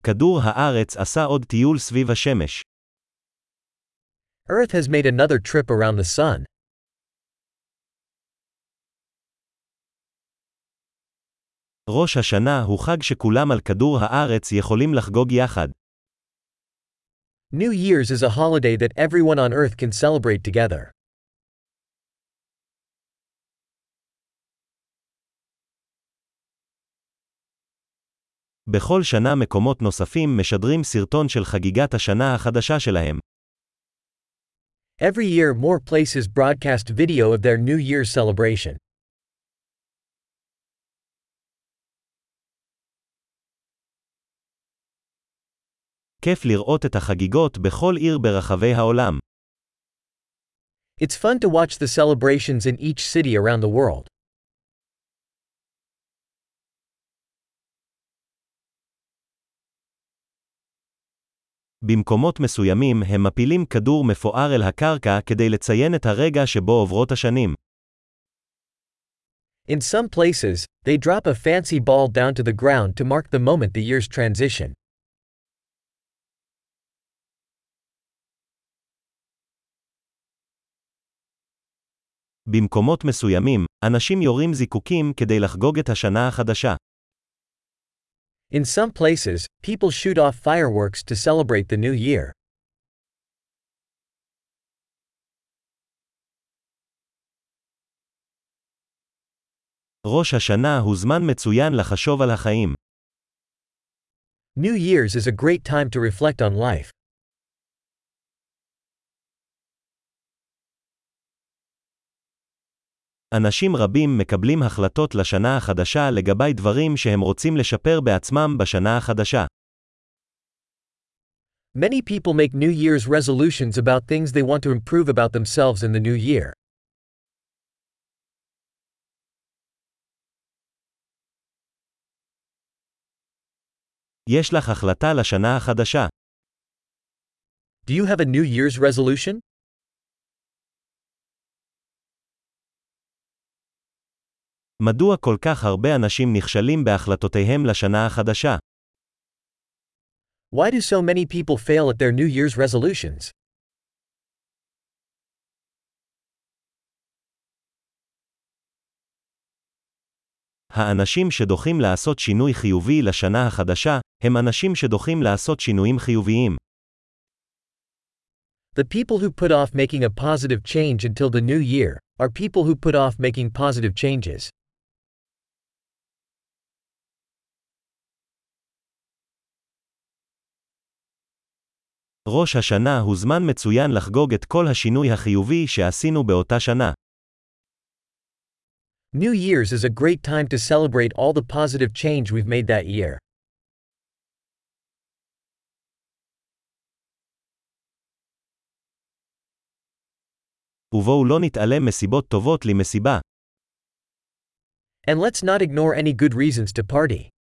כדור הארץ עשה עוד טיול סביב השמש. Earth has made another trip around the sun. ראש השנה הוא חג שכולם על כדור הארץ יכולים לחגוג יחד. New Year's is a holiday that everyone on Earth can celebrate together. בכל שנה מקומות נוספים משדרים סרטון של חגיגת השנה החדשה שלהם. Every year more places broadcast video of their New Year's celebration. כיף לראות את החגיגות בכל עיר ברחבי העולם. It's fun to watch the celebrations in each city around the world. במקומות מסוימים הם מפילים כדור מפואר אל הקרקע כדי לציין את הרגע שבו עוברות השנים. In some places, they drop a fancy ball down to the ground to mark the moment the years transition. במקומות מסוימים, אנשים יורים זיקוקים כדי לחגוג את השנה החדשה. In some places, people shoot off fireworks to celebrate the new year. ראש השנה הוא זמן מצוין לחשוב על החיים. New Year's is a great time to reflect on life. אנשים רבים מקבלים החלטות לשנה החדשה לגבי דברים שהם רוצים לשפר בעצמם בשנה החדשה. Many people make New Year's resolutions about things they want to improve about themselves in the new year. יש לך החלטה לשנה החדשה. Do you have a New Year's resolution? מדוע כל כך הרבה אנשים נכשלים בהחלטותיהם לשנה החדשה? Why do so many people fail at their New Year's resolutions? האנשים שדוחים לעשות שינוי חיובי לשנה החדשה, הם אנשים שדוחים לעשות שינויים חיוביים. The people who put off making a positive change until the new year are people who put off making positive changes. ראש השנה הוא זמן מצוין לחגוג את כל השינוי החיובי שעשינו באותה שנה. New Year's is a great time to celebrate all the positive change we've made that year. ובואו לא נתעלם מסיבות טובות למסיבה. And let's not ignore any good reasons to party.